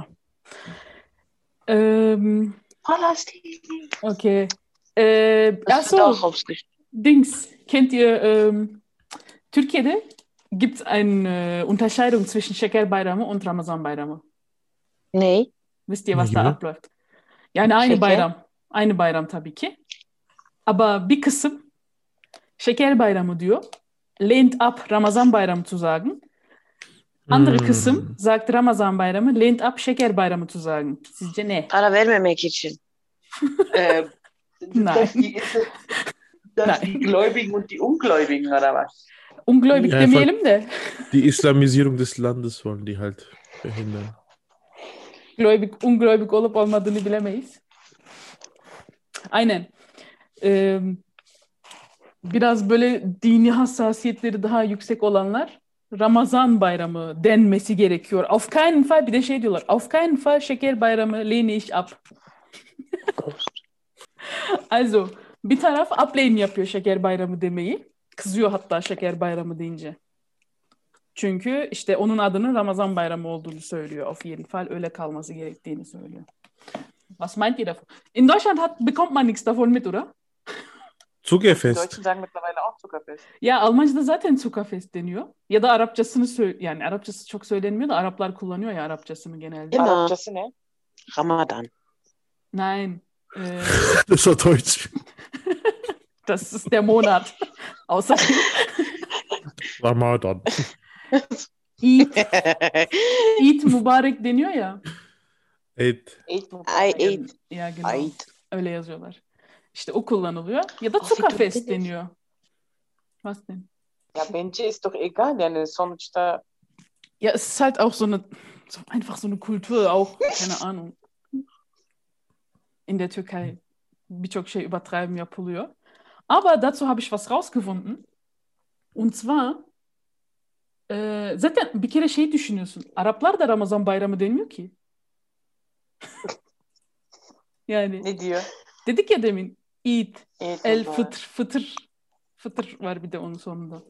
Palästin. Okay. Das wird auch aufs Gericht. Dings, kennt ihr, Türkiye'de gibt es eine Unterscheidung zwischen Şeker Bayramı und Ramazan Bayramı. Nee. Wisst ihr, Ne was da gibi? abläuft? Yani aynı Şeker. bayram. Aynı bayram tabii ki. Aber bir kısım Şeker Bayramı diyor. Lehnt ab, Ramazan Bayramı zu sagen. Andere kısım sagt Ramazan Bayramı, lehnt ab, Şeker Bayramı zu sagen. Sizce ne? Para vermemek için. Nein. Nein. Das die Gläubigen und die Ungläubigen, oder was? Ungläubig Ja, demeyelim de. Die Islamisierung des Landes wollen die halt verhindern. Ungläubig olup olmadığını bilemeyiz. Aynen. Biraz böyle dini hassasiyetleri daha yüksek olanlar Ramazan Bayramı denmesi gerekiyor. Auf keinen Fall, bir de şey diyorlar. Auf keinen Fall Şeker Bayramı lehne ich ab. Also bir taraf ablehnen yapıyor Şeker Bayramı demeyi. Kızıyor hatta Şeker Bayramı deyince. Çünkü işte onun adının Ramazan Bayramı olduğunu söylüyor. Auf jeden Fall öyle kalması gerektiğini söylüyor. Was meint ihr davon? In Deutschland bekommt man nichts davon mit, oder? Die Zuckerfest. Deutschen sagen mittlerweile auch Zuckerfest. Ya Almanca'da zaten Zuckerfest deniyor. Ya da Arapçasını yani Arapçası çok söylenmiyor da Araplar kullanıyor ya Arapçasını genelde. Immer. Arapçası ne? Ramadan. Nein. Das war Deutsch. Das ist der Monat. Außerdem Ramadan. Eid Mübarek deniyor ya. Evet. Eid mu? Ay, Eid. Ya genau. Eid. Öyle yazıyorlar. İşte o kullanılıyor. Ya da Ach, Zuckerfest wie dumm bin ich. deniyor. Was denn? Ja, bence ist doch egal. Yani sonuçta Ja, es ist halt auch einfach so eine Kultur, auch, keine Ahnung. In der Türkei birçok şey übertreiben yapılıyor. Aber dazu habe ich was rausgefunden. Und zwar zaten bir kere şey düşünüyorsun. Araplar da Ramazan bayramı demiyor ki. Yani ne diyor? dedik ya demin Eid, Eid El Mübarek. Fıtır var bir de onun sonunda.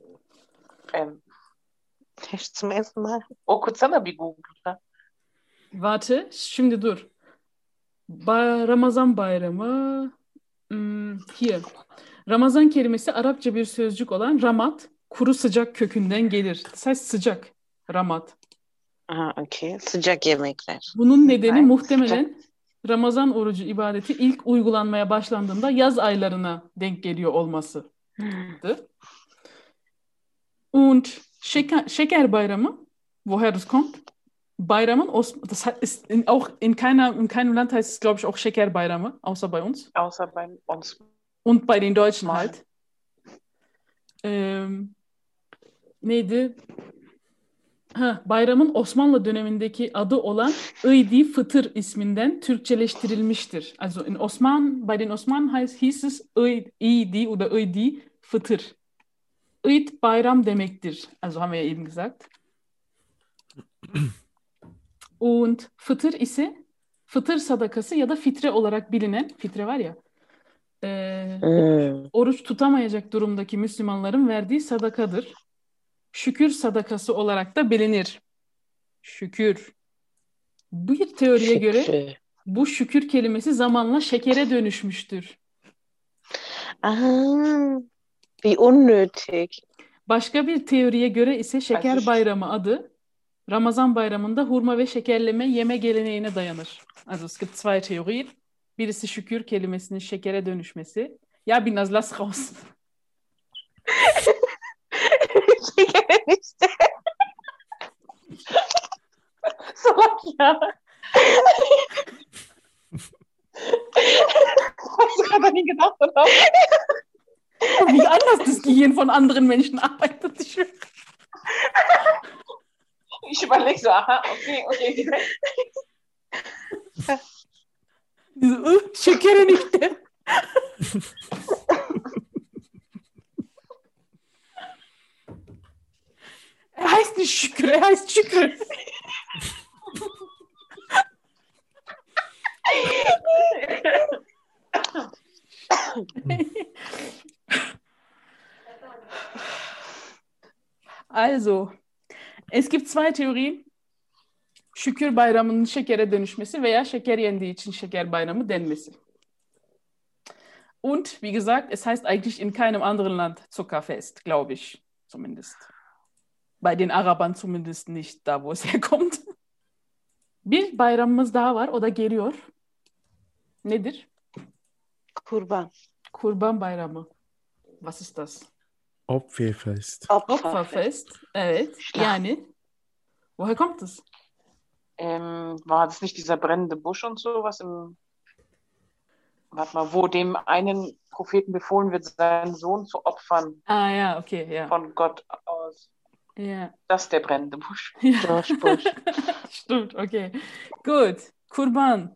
Zum ersten Mal. Okutsana bir Google'da. Warte, şimdi dur. Ramazan bayramı Hier. Ramazan kelimesi Arapça bir sözcük olan ramat, kuru sıcak kökünden gelir. Das heißt sıcak, ramat. Aha, okay. Sıcak yemekler. Bunun nedeni Right. muhtemelen Ramazan orucu ibadeti ilk uygulanmaya başlandığında yaz aylarına denk geliyor olması. Und Şeker Bayramı, woher das kommt? Bayramın, das ist auch in keinem Land heißt es, glaube ich, auch Şeker Bayramı, außer bei uns. Außer bei uns. Und bei den Deutschen Nein. halt. Neydi? Bayramın Osmanlı dönemindeki adı olan Idi Fıtır isminden Türkçeleştirilmiştir. Also bei den Osmanen hieß es Idi oder Idi Fıtır. Eid bayram demektir. Also haben wir ja eben gesagt. Und Fıtır ise fıtır sadakası ya da fitre olarak bilinen, fitre var ya, oruç tutamayacak durumdaki Müslümanların verdiği sadakadır. Şükür sadakası olarak da bilinir. Şükür. Bir teoriye göre bu şükür kelimesi zamanla şekere dönüşmüştür. Wie unnötig. Başka bir teoriye göre ise Şeker Bayramı adı Ramazan bayramında hurma ve şekerleme yeme geleneğine dayanır. Also es gibt zwei Theorien. Birisi şükür kelimesinin şekere dönüşmesi. Ya Binaz, lass raus. Şeker işte. Salak ya. Was ich gerade nie gedacht habe. Wie anders das Gehirn von anderen Menschen arbeitet. Ich überlege so, aha, okay. Şekerin işte. Er heißt nicht Şükür, er heißt Şükür. Also, es gibt zwei Theorien. Şükür bayramının şekere dönüşmesi veya şeker yendiği için şeker bayramı denmesi. Und, wie gesagt, es heißt eigentlich in keinem anderen Land Zuckerfest, glaube ich, zumindest. Bei den Arabern zumindest nicht, da wo es herkommt. Bir bayramımız daha var, o da geliyor. Nedir? Kurban. Kurban Bayramı. Was ist das? Opferfest. Opferfest. Evet. Yani, woher kommt es? War das nicht dieser brennende Busch und so, warte mal, wo dem einen Propheten befohlen wird, seinen Sohn zu opfern Ah ja, okay, ja. von Gott aus. Ja. Das ist der brennende Busch. Busch. Stimmt, okay. Gut. Kurban.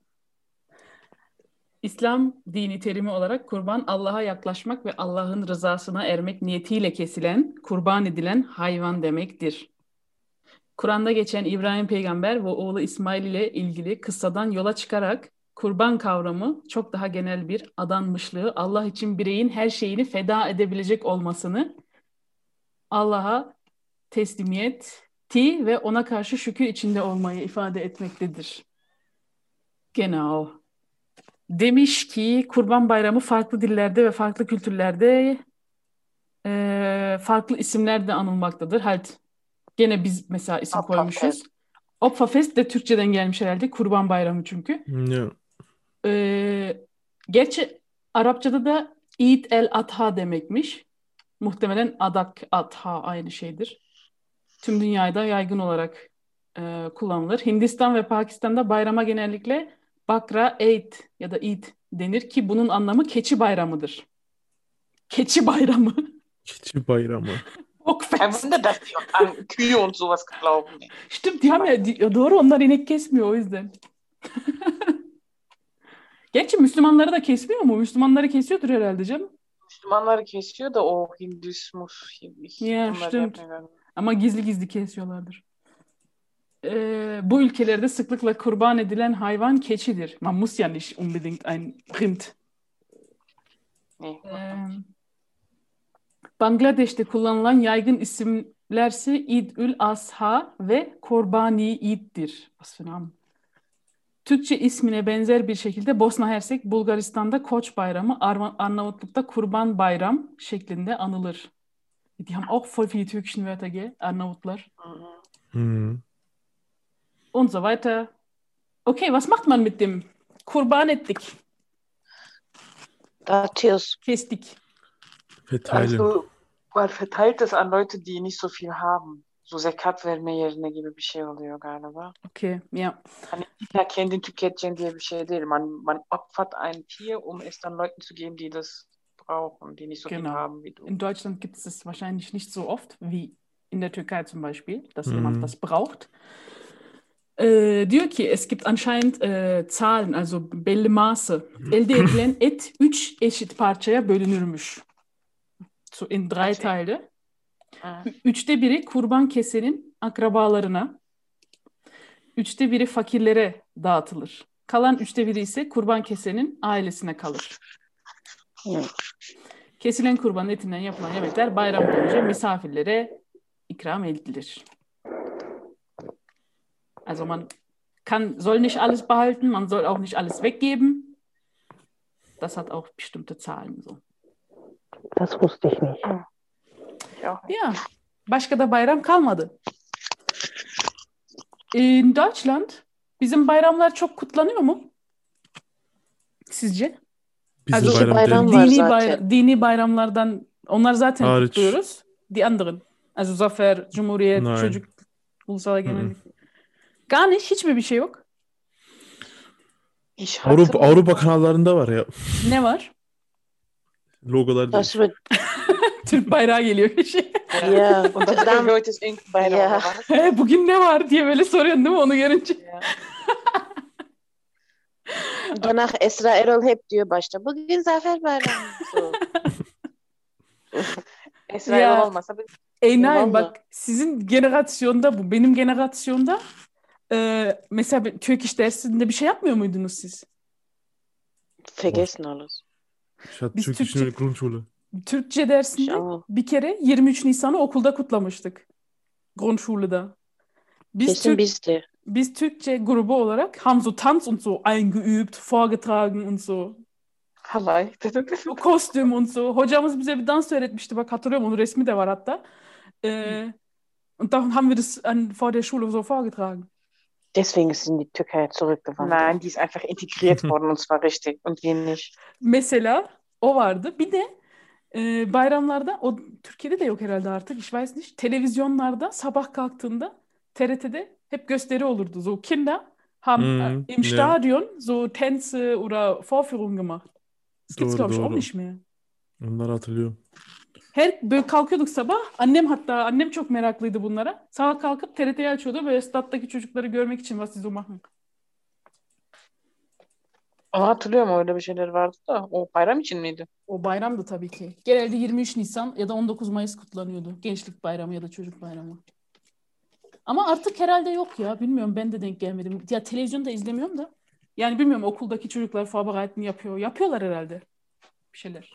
İslam dini terimi olarak kurban, Allah'a yaklaşmak ve Allah'ın rızasına ermek niyetiyle kesilen, kurban edilen hayvan demektir. Kur'an'da geçen İbrahim peygamber ve oğlu İsmail ile ilgili kıssadan yola çıkarak kurban kavramı çok daha genel bir adanmışlığı, Allah için bireyin her şeyini feda edebilecek olmasını, Allah'a teslimiyeti ve ona karşı şükür içinde olmayı ifade etmektedir. Genau. Demiş ki Kurban Bayramı farklı dillerde ve farklı kültürlerde farklı isimlerle anılmaktadır. Halt, gene biz mesela isim koymuşuz. Opferfest de Türkçeden gelmiş herhalde. Kurban Bayramı çünkü. Ja. Gerçi Arapçada da Eid el-Adha demekmiş. Muhtemelen Adak, Adha aynı şeydir. Tüm dünyada yaygın olarak kullanılır. Hindistan ve Pakistan'da bayrama genellikle Bakra Eid ya da Eid denir ki bunun anlamı keçi bayramıdır. Keçi bayramı. Keçi bayramı. Kein Wunder, dass die an Kühe und sowas glauben. Stimmt, die haben ya doğru, onlar inek kesmiyor o yüzden. Gerçi Müslümanları da kesmiyor mu? Müslümanları kesiyordur herhalde canım. Müslümanları kesiyor da o Hindüsmus. Ya, stimmt. Ama gizli gizli kesiyorlardır. Bu ülkelerde sıklıkla kurban edilen hayvan keçidir. Man muss ja nicht unbedingt ein Rind. Bangladeş'te kullanılan yaygın isimlerse İd-ül Asha ve Korbani İd'dir. Was für Namen? Türkçe ismine benzer bir şekilde Bosna Hersek, Bulgaristan'da Koç Bayramı, Arnavutluk'ta Kurban Bayram şeklinde anılır. Die haben auch voll viele türkischen Wörter, gell? Arnavutlar. Mhm. Und so weiter. Okay, was macht man mit dem Kurban ettik? Dağıtıyoruz. Kestik. Verteilen. Also, man verteilt das an Leute, die nicht so viel haben. So zekat verme yerine gibi bir şey oluyor galiba. Okay, ja. Hani illa kendin tüketeceksin diye bir şey değil. Man opfert ein Tier, um es dann Leuten zu geben, die das brauchen, die nicht so viel Genau. haben wie du. In Deutschland gibt es das wahrscheinlich nicht so oft wie in der Türkei zum Beispiel, dass Mhm. jemand das braucht. Diyor ki es gibt anscheinend Zahlen, also belli maßı. Elde edilen et 3 eşit parçaya bölünürmüş. So in 3 Okay. Teile. Ah. 3'te biri kurban kesenin akrabalarına, 3'te biri fakirlere dağıtılır. Kalan 3'te biri ise kurban kesenin ailesine kalır. Kesilen kurban etinden yapılan yemekler bayram boyunca misafirlere ikram edilir. Also man soll nicht alles behalten, man soll auch nicht alles weggeben. Das hat auch bestimmte Zahlen so. Das wusste ich nicht. Ja. Ja, başka da bayram kalmadı. In Deutschland bizim bayramlar çok kutlanıyor mu? Sizce? Bizim Also bayram bayram değil. var zaten. Dini bayramlardan onlar zaten Hariç. kutluyoruz. Die anderen. Also Zafer, Cumhuriyet, Nein. Çocuk, Ulusal Egemenlik. Gar nicht, hiç mi bir şey yok? Ich Avrupa kanallarında var ya. Ne var? Logolar Das değil. wird, Türk bayrağı geliyor bir şey. ja. Und das Dann, heute ist irgendein Bayram, Ja. oder was? Bugün ne var diye böyle soruyorsun değil mi onu görünce? Ja. danach Esra Erol hep diyor başta. Bugün Zafer Bayramı. So. Esra Ya. Erol olmasa biz Nein, Vallahi. bak sizin generasyonda bu. Benim generasyonda mesela Türk iş dersinde bir şey yapmıyor muydunuz siz? Vergessen alles. Ich hatte Biz Türkischen in der Grundschule. Türkçe dersinde İnşallah. bir kere 23 Nisan'ı okulda kutlamıştık. Grundschule'da. Kesin biz de. Biz Türkçe grubu olarak haben so Tanz und so eingeübt, vorgetragen und so. halay. O kostüm und so. Hocamız bize bir dans öğretmişti. Bak hatırlıyorum onun resmi de var hatta. Und dann haben wir das vor der Schule so vorgetragen. Deswegen ist sie in die Türkei zurückgewandert. Nein, die ist einfach integriert worden und zwar richtig und wir nicht. Mesela o vardı. Bir de bayramlarda o Türkiye'de de yok herhalde artık. Ich weiß nicht. Televizyonlarda sabah kalktığında TRT'de hep gösteri olurdu. So Kinder haben im ja. Stadion so Tänze oder Vorführungen gemacht. Das gibt's Doğru, glaube ich auch doğru. nicht mehr. Onları hatırlıyorum. Böyle kalkıyorduk sabah. Annem çok meraklıydı bunlara. Sabah kalkıp TRT'yi açıyordu böyle stattaki çocukları görmek için was sie so machen. Ama hatırlıyorum öyle bir şeyler vardı da o bayram için miydi? O bayramdı tabii ki. Genelde 23 Nisan ya da 19 Mayıs kutlanıyordu. Gençlik bayramı ya da çocuk bayramı. Ama artık herhalde yok ya. Bilmiyorum ben de denk gelmedim. Ya televizyonda izlemiyorum da. Yani bilmiyorum okuldaki çocuklar Vorbereiten yapıyor. Yapıyorlar herhalde. Bir şeyler.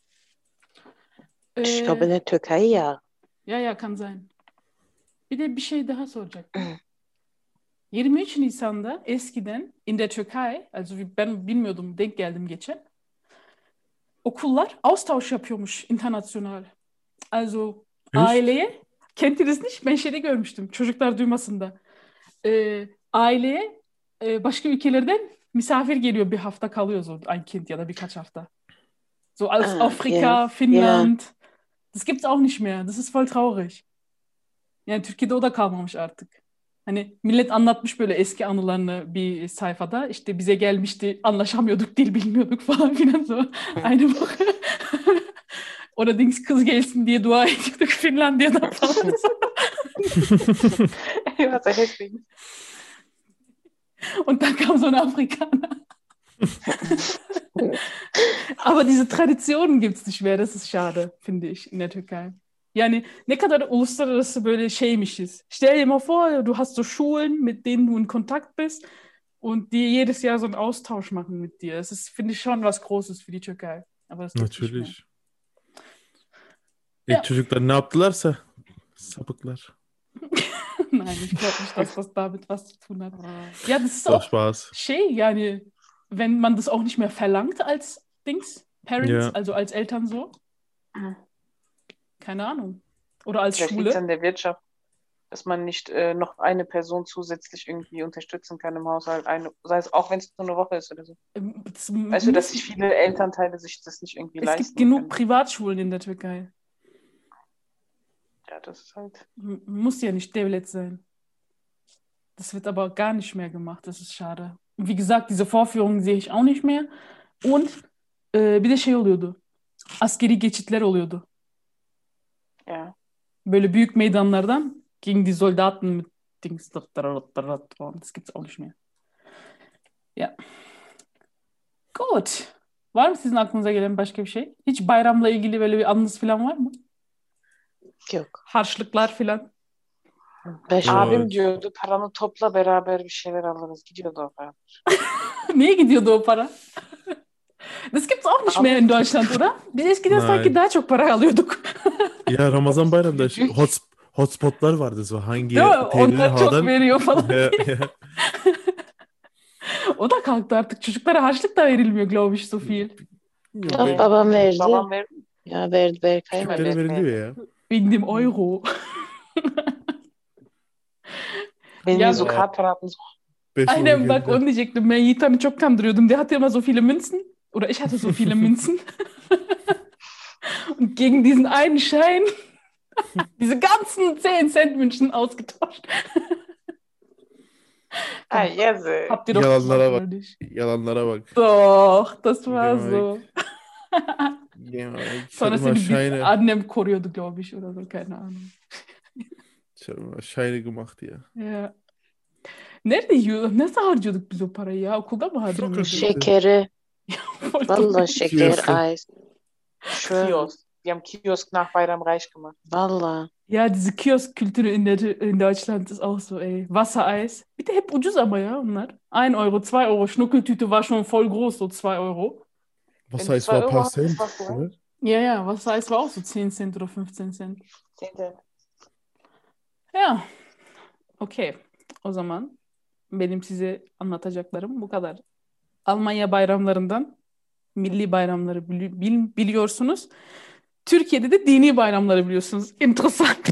Ich glaube in der Türkei ja. Ya kann sein. Bir de bir şey daha soracaktım. 23 Nisan'da eskiden in der Türkei, also ben bilmiyordum, denk geldim geçen. Okullar Austausch yapıyormuş international. Also aileye, kennt ihr das nicht? Ben şeyde görmüştüm, çocuklar duymasın da. Aileye başka ülkelerden misafir geliyor, bir hafta kalıyor so ein Kind ya da birkaç hafta. So aus Afrika, ja, Finnland. Das gibt's auch nicht mehr. Das ist voll traurig. Yani Türkiye'de o da kalmamış artık. Hani millet anlatmış böyle eski anılarını bir sayfada. İşte bize gelmişti, anlaşamıyorduk, dil bilmiyorduk falan filan so. Aynı bak. Allerdings kız gelsin diye dua ediyorduk Finlandiya'dan falan. Was er deswegen. Und dann kam so ein Afrikaner. Aber diese Traditionen gibt's nicht mehr. Das ist schade, finde ich, in der Türkei. Yani ne kadar uluslararası böyle şeymişiz. Stell dir mal vor, du hast so Schulen, mit denen du in Kontakt bist und die jedes Jahr so einen Austausch machen mit dir. Das ist, finde ich, schon was Großes für die Türkei. Aber das gibt's nicht mehr. Natürlich. Ya. Çocuklar ne yaptılarsa sapıklar. Nein. Nein, ich glaube nicht, dass das damit was zu tun hat. Ja, das ist Doch, auch Spaß. yani, wenn man das auch nicht mehr verlangt als Parents, Ja. also als Eltern so. Keine Ahnung. Oder als Vielleicht liegt es Schule. an der Wirtschaft, dass man nicht noch eine Person zusätzlich irgendwie unterstützen kann im Haushalt. Sei es auch, wenn es nur eine Woche ist oder so. Das Weißt du, dass sich viele Elternteile sich das nicht irgendwie es leisten gibt genug können. Privatschulen in der Türkei. Ja, das ist halt. Muss ja nicht devlet sein. Das wird aber gar nicht mehr gemacht. Das ist schade. Und wie gesagt, diese Vorführungen sehe ich auch nicht mehr. Und bir de şey oluyordu. Askeri geçitler oluyordu. Ja. Böyle büyük meydanlardan gegen die Soldaten mit Dings. Das gibt's auch nicht mehr. Ya. Good. Var mı sizin aklınıza gelen başka bir şey? Hiç bayramla ilgili böyle bir anınız falan var mı? Yok. Harçlıklar falan. 5 Aa, Abim evet. diyordu paranı topla beraber bir şeyler alırız. Gidiyordu o para. Neye gidiyordu o para? Das gibt's auch nicht mehr in Deutschland, oder? Biz eskiden sanki Nein. daha çok para alıyorduk. Ya Ramazan bayramında hotspotlar vardı. So hangi Değil mi? TL'nin Onlar çok havadan. veriyor falan. Ya, diye. ya. O da kalktı artık. Çocuklara harçlık da verilmiyor, glaube ich, so viel. Yok, Yok, babam verdi. Babam verdi. Ya verdi Berkay mı? küçüklere veriliyor ya. Wegen dem Euro. Wenn Ja, wir so Ja. Karte hatten, so, 5 Euro Aynen bak geldi. onu diyecektim. Ben Yiğitan'ı çok kandırıyordum. Der hatte immer so viele Münzen. Oder ich hatte so viele Münzen. Und gegen diesen einen Schein diese ganzen 10 Cent Münzen ausgetauscht. yazık. Habt ihr doch Yalanlara gemacht, bak. oder nicht? Yalanlara bak. Doch, das war Ja, so. Ja, ich Sonra habe immer seni bir Scheine, annem koruyordu, glaube ich, oder so. Keine Ahnung. ich habe immer Scheine gemacht ya. Ya. Nerede yiyorduk? Nasıl harcıyorduk biz o parayı ya? Okulda mı harcanıyordu? Şey- Şekeri. Voll Vallahi dumm. şeker, Kioske. Eis. Schwör. Kiosk. Die haben Kiosk nach Bayram reich gemacht. Vallahi. Ja, diese Kiosk-Kültür in Deutschland ist auch so, ey. Wassereis. Bir de hep ucuz ama ya onlar. 1 Euro, 2 Euro. Schnuckeltüte war schon voll groß, so 2 Euro. Was Wenn du heißt, 2 war ein Euro paar hast, Cent, warst du reich. oder? Ja, Wassereis war auch so 10 Cent oder 15 Cent. 10 Cent. Ya, okey. O zaman benim size anlatacaklarım bu kadar. Almanya bayramlarından milli bayramları biliyorsunuz. Türkiye'de de dini bayramları biliyorsunuz. Interessant.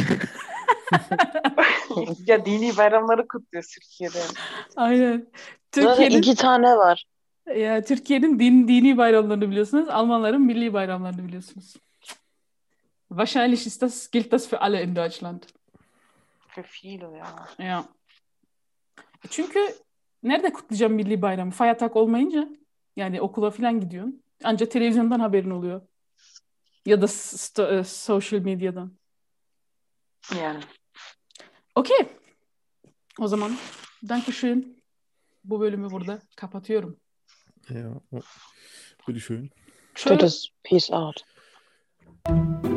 Ya dini bayramları kutluyor Türkiye'de. Aynen. Zaten Türkiye'nin 2 tane var. Türkiye'nin dini bayramlarını biliyorsunuz. Almanların milli bayramlarını biliyorsunuz. Wahrscheinlich gilt das für alle in Deutschland. Für viele, ya. Ja. Çünkü nerede kutlayacağım milli bayramı? Feiertag olmayınca yani okula falan gidiyorsun. Ancak televizyondan haberin oluyor. Ya da social medyadan. Yani. Okey. O zaman Dankeschön. Bu bölümü burada kapatıyorum. Ja, bitteschön. Şöyle Tschüss. Peace out.